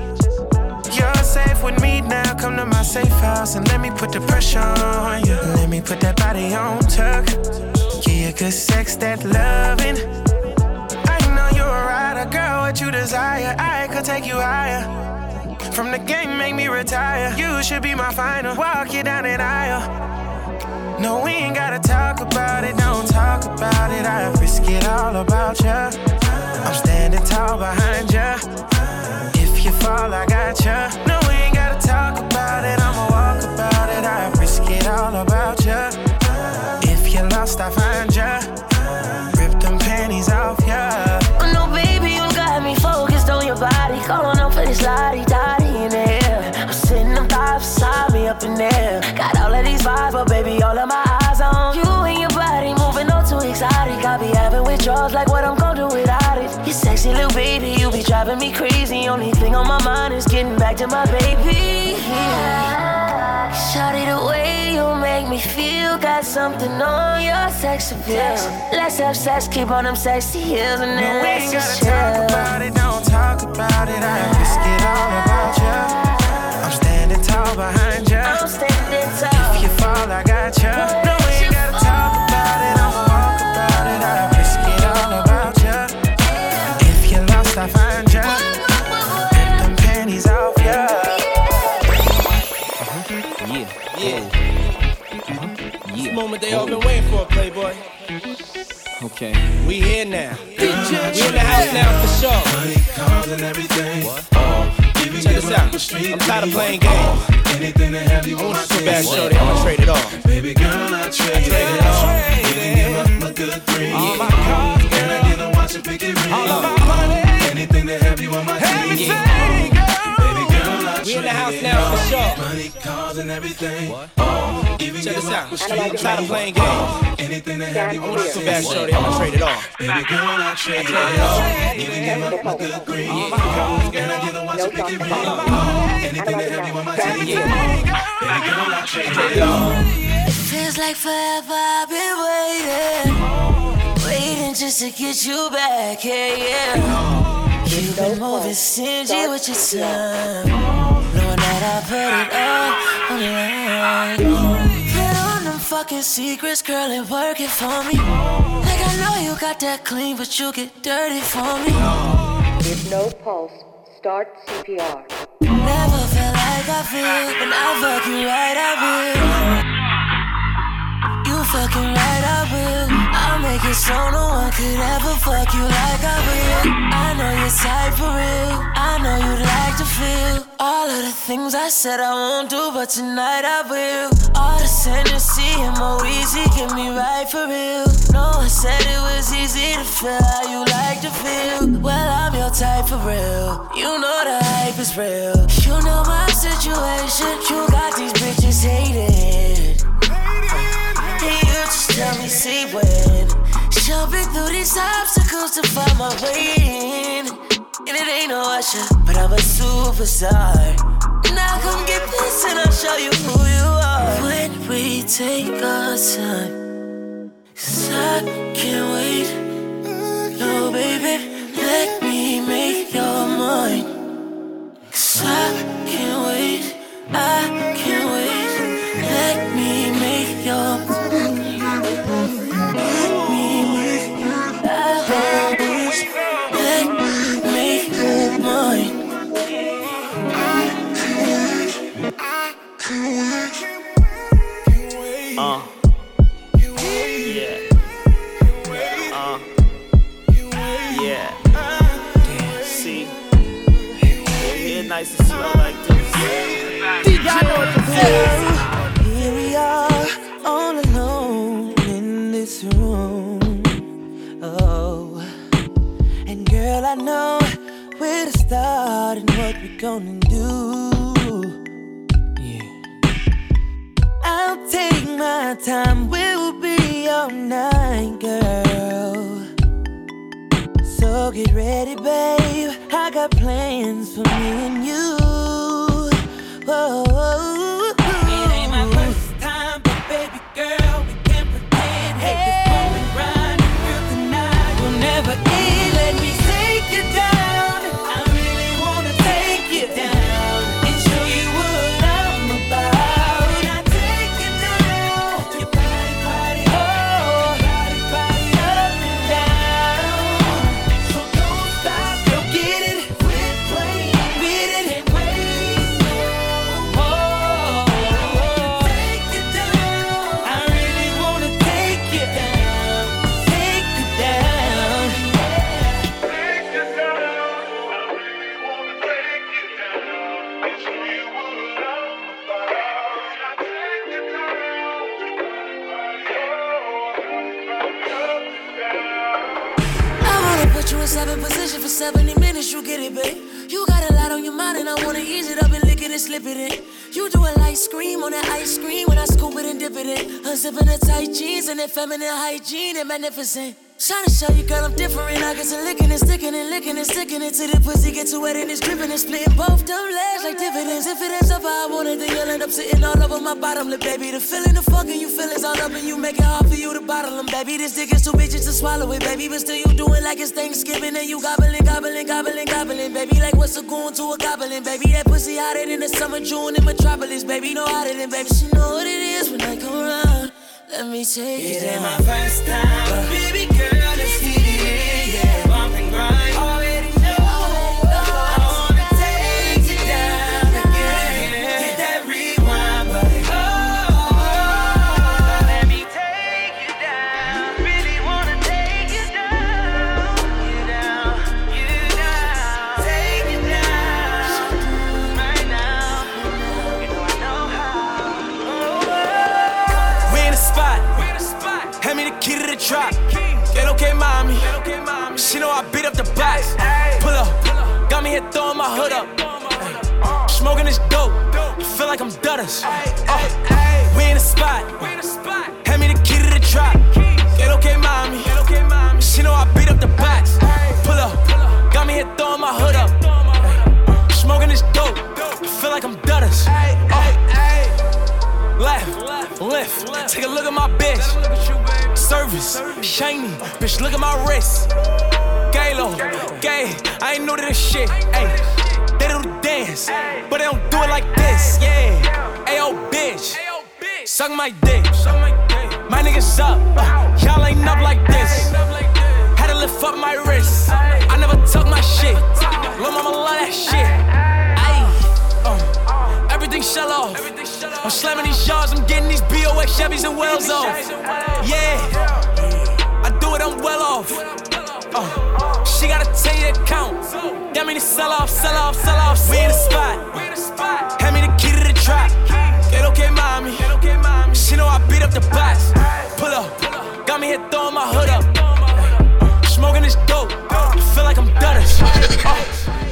You're safe with me now. Come to my safe house and let me put the pressure on you. Let me put that body on tuck. Give you good sex, that loving. I know you're a rider, girl. What you desire, I could take you higher. From the game, make me retire. You should be my final. Walk you down that aisle. No, we ain't gotta talk about it. Don't talk about it. I risk it all about ya. I'm standing tall behind ya. If you fall, I got ya. No, we ain't gotta talk about it. I'ma walk about it. I risk it all about ya. If you're lost, I find ya. Rip them panties off ya. Oh no, baby, you got me focused on your body. Calling up for this lottie-dottie in the air. I'm sitting up five beside me up in there. Got all of these vibes, but baby, all of my eyes on you and your body moving on too exotic. I be having withdrawals like what I'm gonna do without it. You sexy little baby, you be driving me crazy. Only thing on my mind is getting back to my baby. Yeah. Shawty, the way you make me feel, got something on your sex appeal. Let's have sex, keep on them sexy heels, and then No, we let's ain't just gotta chill. talk about it. Don't talk about it. I risk it all about ya. I'm standing tall behind ya. I'm standing tall. If you fall, I got ya. No, we ain't gotta talk about it. I'ma walk about it. I risk it all about ya. If you're lost, I find ya. Rip them panties off ya. Yeah, yeah. This moment they all been waiting for, Playboy. Okay. We here now. We in the house now for sure. Money, cars, and everything. Oh, check this out. I'm tired of playing games. Anything to have you I on want my you so team. bad, shorty. I'ma trade it all. Baby girl, I trade it all. Even give up a good three. All my cars, Can I get a watch and pick it ring? all of my money. Anything to have you on my team. Everything, girl. Baby girl, I We in the house now for sure. Money, cars, and everything. What? Oh, even check this out. I'm tired of playing games. Anything that have you want. Too bad, shorty. I'm gonna trade it all. Baby girl, I trade it all. You can give up my good green. Can I get the one to pick it real? Anything that have you on my team. Baby girl, I trade it all. It feels like forever I've been waiting, waiting just to get you back, yeah, yeah. You've been moving stingy with your time, knowing that I put it all on the line. Put on them fucking secrets, girl, and work it for me. Like I know you got that clean, but you get dirty for me. With no pulse, start C P R. Never felt like I feel, when I fuck you right, I will. You fucking right, I will. I'll make it so no one could ever fuck you like I will. I know you're tight for real. I know you'd like to feel all of the things I said I won't do, but tonight I will. All the Tennessee and more easy, get me right for real. No one said it was easy to feel how you like to feel. Well, I'm your type for real. You know the hype is real. You know my situation. You got these bitches hated. You just tell me, see when jumping through these obstacles to find my way in. And it ain't no usher, but I'm a superstar. Now come get this and I'll show you who you are. When we take our time, 'cause I can't wait. No, baby, let me make your mind. 'Cause I can't wait, I can't wait. Let me make your mind. Uh, yeah. Uh, yeah. Damn, see, it's nice and slow like this. Here we are, all alone in this room. Oh, and girl, I know where to start and what we're gonna do. I'll take my time, we'll be all night, girl. So get ready, babe, I got plans for me and you. Whoa. It ain't my first time, but baby girl, we can't pretend. Hey, this moment grind, real tonight will never end. Let me take you down. I really wanna take you down and show you what I'm about. Seven position for seventy minutes, you get it, babe. You got a lot on your mind and I wanna ease it up and lick it and slip it in. You do a light scream on that ice cream when I scoop it and dip it in. Unzipping the tight jeans and that feminine hygiene and magnificent. Trying to show you, girl, I'm different. I get to licking and sticking and licking and sticking it till the pussy get too wet and it's dripping and splitting both them legs like dividends. If it ends up how I want it, then you'll end up sitting all over my bottom lip, baby. The feeling, the fucking you feelings all up and you make it hard for you to bottle them, baby. This dick is too bitches to swallow it, baby. But still you doing like it's Thanksgiving and you gobbling, gobbling, gobbling, gobbling, baby. Like what's a goon to a goblin, baby. That pussy hotter than the summer June in Metropolis, baby. No hotter than, baby. She know what it is when I come around. Let me take it, it down. Ain't my first time, but baby girl, let's get it in, yeah. Bump and grind, already know. I wanna take you down again, hit that rewind button. Oh, let me take you down. Really wanna take you down, you down, you down. Take you down, right now. You know I know how. Oh, we in the spot. Hand me the key to the drop. Get okay, mommy. She know I beat up the box. Pull up, got me here throwing my hood up. Smoking this dope, I feel like I'm Dutters. Uh, we in the spot, hand me the key to the trap. Get okay, mommy. She know I beat up the box. Pull up, got me here throwing my hood up. Smoking this dope, I feel like I'm Dutters. Uh, left, lift, take a look at my bitch. Service, shiny, bitch, look at my wrist. Galo, gay, I ain't new to this shit. Ay, they do the dance, but they don't do it like this. Yeah, ayo, bitch, suck my dick. My niggas up, uh, y'all ain't up like this. Had to lift up my wrist. I never tuck my shit. Lil' mama love that shit. Ay, uh, everything shell off. I'm slamming these yards, I'm getting these B O X Chevys and Wells off. Yeah, I do it, I'm well off. Uh, she got a ten year count. That mean to sell off, sell off, sell off. We in the spot. Hand me the key to the trap. Get okay, mommy. She know I beat up the box. Pull up, got me here throwing my hood up. Smoking this dope, I feel like I'm Dutters. Uh.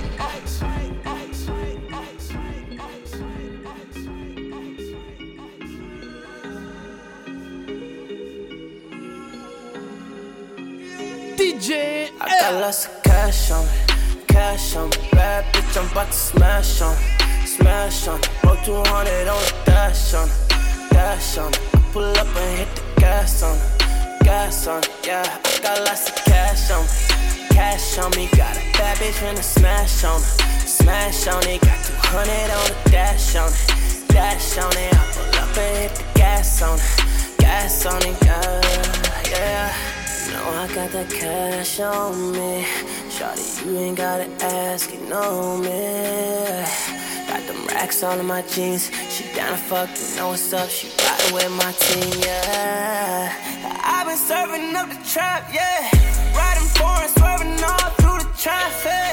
D J I got lots of cash on me, cash on me. Bad bitch, I'm about to smash on me, smash on me. Roll two hundred on the dash on it, dash on it. I pull up and hit the gas on it, gas on it. Yeah, I got lots of cash on me, cash on me. Got a bad bitch finna smash on it, smash on it. Got two hundred on the dash on it, dash on it. I pull up and hit the gas on it, gas on it. Yeah, yeah. Know I got that cash on me. Shawty, you ain't gotta ask, you know me. Got them racks all in my jeans. She down to fuck, you know what's up. She riding with my team, yeah. I've been serving up the trap, yeah. Riding foreign, swerving all through the traffic.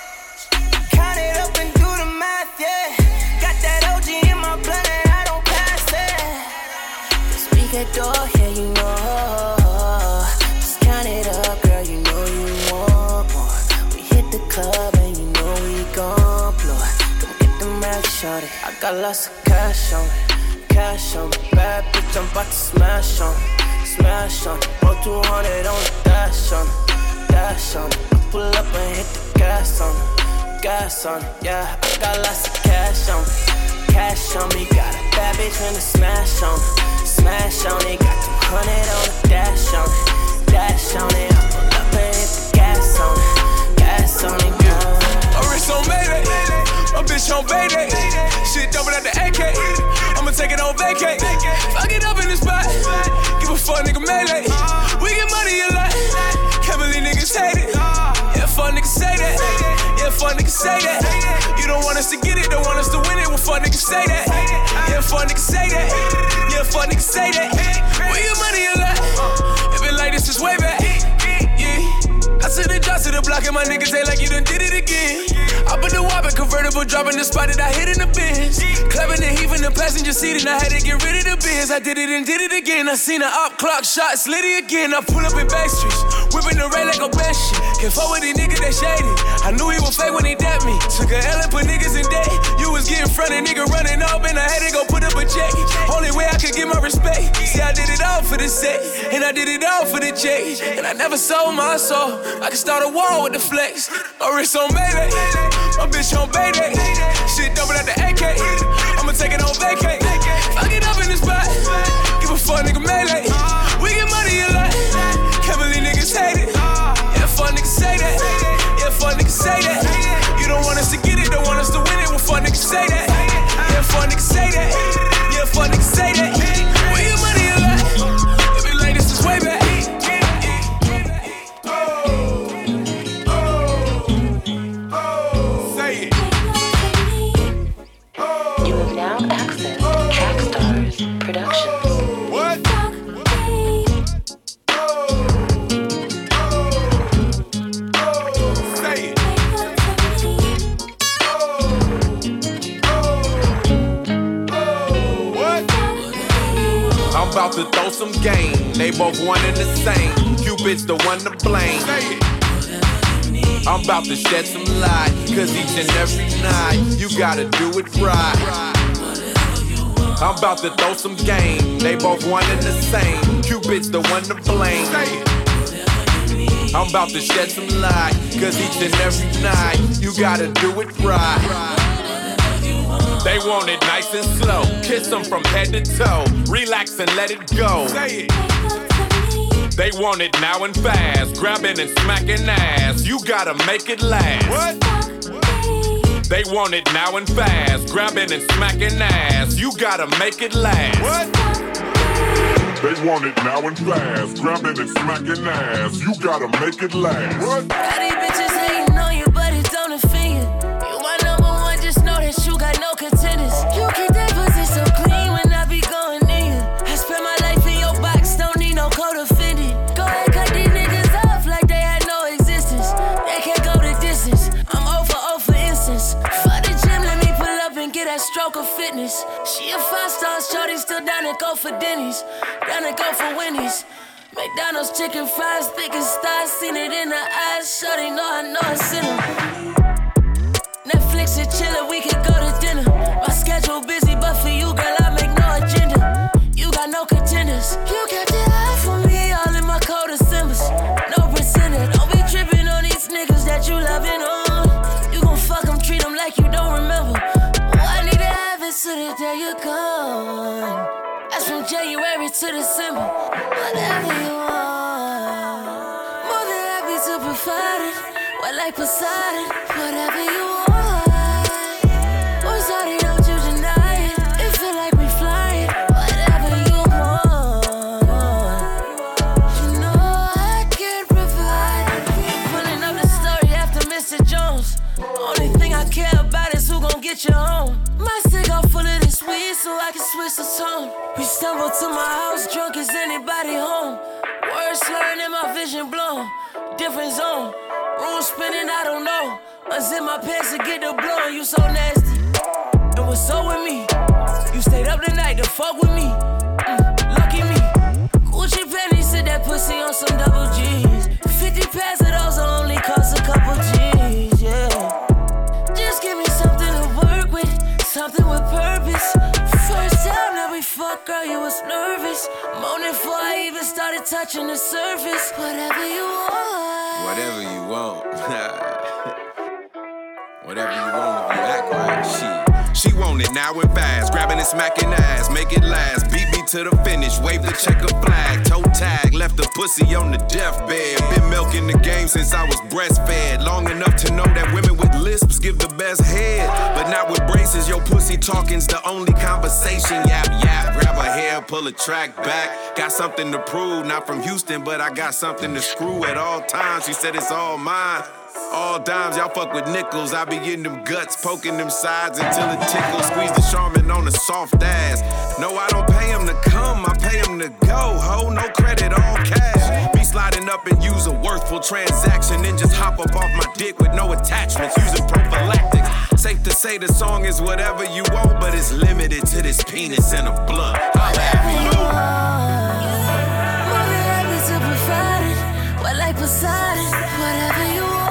Count it up and do the math, yeah. Got that O G in my blood and I don't pass it. This weekend door, yeah, you know. Count it up, girl, you know you want more. We hit the club and you know we gon' blow it. Come get them racks, shorty. I got lots of cash on me, cash on me. Bad bitch, I'm about to smash on it, smash on it. Roll two hundred on the dash on it, dash on it. I pull up and hit the gas on it, gas on it. Yeah, I got lots of cash on me, cash on me. Got a bad bitch finna smash on it, smash on it. Got two hundred on the dash on it, dash on it. I pull up and hit the gas on it, gas on it. Yeah. My wrist on Mayday, my bitch on Bayday. Shit double at the A K, I'ma take it on vacay. Fuck it up in the spot, give a fuck nigga melee. We get money a lot, can't believe niggas hate it. Yeah, fuck niggas say that, yeah, fuck niggas say that. You don't want us to get it, don't want us to win it. Well, fuck niggas say that, yeah, fuck niggas say that. Yeah, fuck niggas say that. We get money a lot, it been like this since way back. Yeah, I took the drop to the block and my niggas ain't like you done did it again. I put the whopper convertible, dropping the spot that I hit in the Benz. Clapping the heat in the passenger seat and I had to get rid of the Benz. I did it and did it again. I seen an op clock shot, slid it again. I pull up in back streets, whipping the ray like a bad shit. Can't fuck with these niggas that shady. I knew he was fake when he dapped me. Took a L and put niggas in debt. You was getting front and nigga running off and I had to go put up a check. Only way I could get my respect. See, I did it all for the set and I did it all for the check. And I never sold my soul. I could start a war with the flex. My wrist on Mayday, my bitch on Bayday. Shit double at the A K, I'ma take it on vacay. Fuck it up in the spot, give a fuck nigga melee. We get money a lot, can't believe niggas hate it. Yeah, fuck niggas say that, yeah, fuck niggas say that. You don't want us to get it, don't want us to win it. Well, fuck niggas say that, yeah, fuck niggas say that. Yeah, fuck niggas say that. We get money a lot, it be like this is way back. About to throw some game, they both one and the same. Cupid's the one to blame. I'm about to shed some light, cause each and every night you gotta do it right. I'm about to throw some game, they both one and the same. Cupid's the one to blame. I'm about to shed some light, cause each and every night you gotta do it right. They want it nice and slow, kiss them from head to toe, relax and let it go. Say it. They want it now and fast, grabbing and smacking ass, you gotta make it last. What? They want it now and fast, grabbing and smacking ass, you gotta make it last. What? They want it now and fast, grabbing and smacking ass, you gotta make it last. What? All these bitches hating on you, but it don't offend you. You my number one, just know that you got no contenders. You keep that pussy so clean when I be going in you. I spend my life in your box, don't need no code offended. Go ahead, cut these niggas off like they had no existence. They can't go the distance, I'm over, over for instance. For the gym, let me pull up and get that stroke of fitness. She a five-star shorty, still down to go for Denny's, down to go for Wendy's. McDonald's chicken fries, thick as stars, seen it in her eyes. Shorty know I know it's in her. Netflix and chillin', we can go to dinner. My schedule busy, but for you, girl, I make no agenda. You got no contenders. You got the eye for me, all in my cold Decembers. No pretender, don't be trippin' on these niggas that you lovin' on. You gon' fuck them, treat them like you don't remember. Oh, I need to have it so that day you're gone. That's from January to December. Whatever you want, more than happy to provide it. What like Poseidon, whatever you want. What's all they don't you deny it? It feel like we flying. Whatever you want, you know I can provide. Pulling up the story after Mister Jones. Only thing I care about is who gon' get you home. My cigar full of this weed so I can switch the tone. We stumbled to my house drunk as anybody home. Words slurring and my vision blown. Different zone. Room spinning, I don't know. Unzip my pants to get the blow. You so nasty. And what's up with me? You stayed up the night to fuck with me. Mm, lucky me. Gucci panties, sit that pussy on some double G's. Fifty pairs of those only cost a couple G's, yeah. Just give me something to work with, something with purpose. First time that we fucked, girl, you was nervous. Moaning before I even started touching the surface. Whatever you want. Whatever you want. Whatever you want, if you act right, she. She want it now and fast, grabbing and smacking ass, make it last. Beat me to the finish, wave the checker flag, toe tag, left the pussy on the deathbed. Been milking the game since I was breastfed, long enough to know that women with lisps give the best head, but not with braces. Your pussy talking's the only conversation. Yap yap, grab her hair, pull a track back. Got something to prove, not from Houston, but I got something to screw at all times. She said it's all mine. All dimes, y'all fuck with nickels. I be getting them guts, poking them sides until it tickles. Squeeze the Charmin on a soft ass. No, I don't pay him to come, I pay him to go. Ho, no credit, all cash. Be sliding up and use a worthful transaction, then just hop up off my dick with no attachments, using prophylactics. Safe to say the song is whatever you want, but it's limited to this penis and a blunt. Whatever you want, more than happy to provide it. What like Poseidon, whatever you want.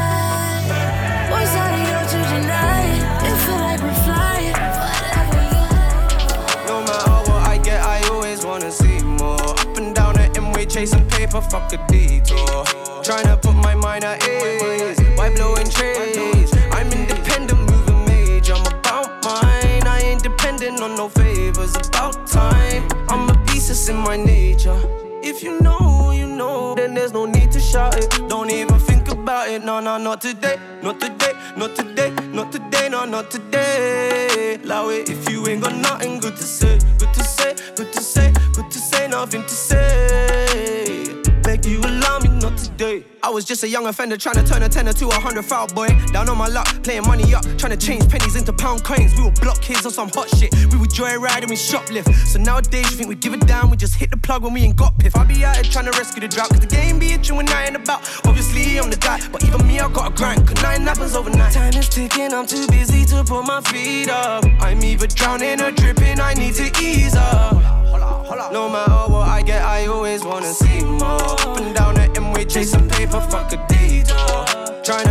What's all they don't you deny it? It feel like we're flying. Whatever you want. No matter what I get, I always wanna see more. Up and down the M-way, chasing paper, fuck a detour. Trying to put my mind at ease, why blowing trees? I'm independent, moving major, I'm about mine. I ain't dependent on no favors, about time. I'm a beast, it's in my nature. If you know, you know, then there's no need to shout it. Don't even think about it, no, no, not today. Not today, not today, not today, no, not today. Allow it if you ain't got nothing good to say. Good to say, good to say, good to say, nothing to say. Beg you allow me not today. I was just a young offender trying to turn a tenner to a hundred foul boy. Down on my luck, playing money up, trying to change pennies into pound coins. We were block kids on some hot shit. We would joyride and we shoplift. So nowadays you think we give it down, we just hit the plug when we ain't got piff. I be out here trying to rescue the drought, cause the game be itching when I ain't about. Obviously I'm the guy, but even me I got a grind, cause nothing happens overnight. Time is ticking, I'm too busy to put my feet up. I'm either drowning or dripping, I need to ease up. No matter what I get, I always wanna see more. Up and down the M-way, chasing paper, fuck a detour. Trying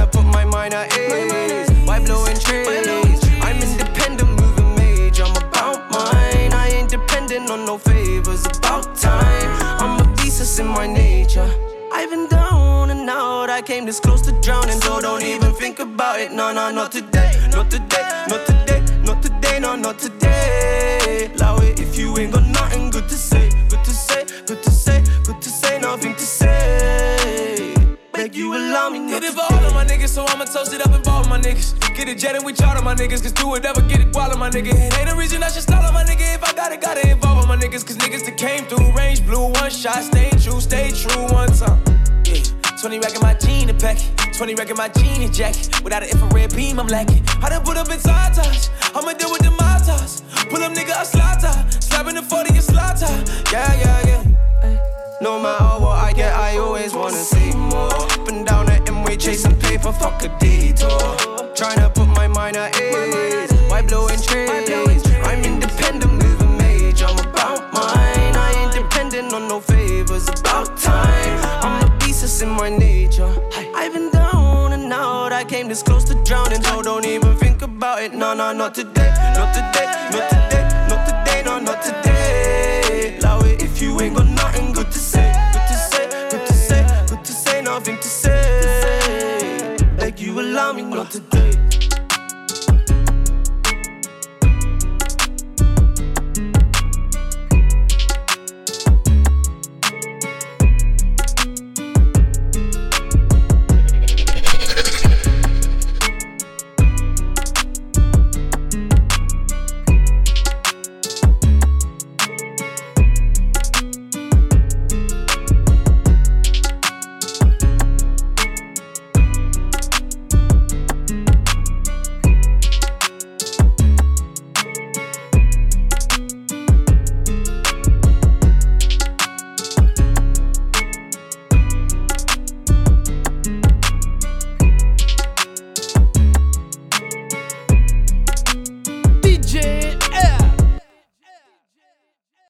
depending on no favors. About time, I'm a beast, it's in my nature. I've been down and out, I came this close to drowning. So don't even think about it, no, no, not today. Not today, not today, not today, no, not today. Allow it if you ain't got nothing good to say. Good to say, good to say, good to say, nothing to say. Beg you allow me not Did it to for all of my niggas, so I'ma toast it up and ball with my niggas. Get it jet and we charter my niggas, cause do it ever get it while my nigga. It ain't a reason I should stall on my nigga. If I got it, gotta involve all my niggas, cause niggas that came through range blue, one shot, stay true, stay true, one time. Yeah, twenty rack in my jean and pack it, twenty rack in my jean and jacket. Without an infrared beam, I'm lacking. I done put up in side touch, I'ma deal with the motos. Pull up nigga, a slaughter, slapping the forty and slaughter. Yeah, yeah, yeah. No matter what I get, I always wanna see more. Up and down the M-way, chasing paper, fuck a detour. Tryna put my mind at ease, why blowing trees? I'm independent, moving major, I'm about mine. I ain't dependent on no favors, about time. I'm a beast, it's in my nature. I've been down and out, I came this close to drowning. So don't even think about it, no, no, not today, not today, not today.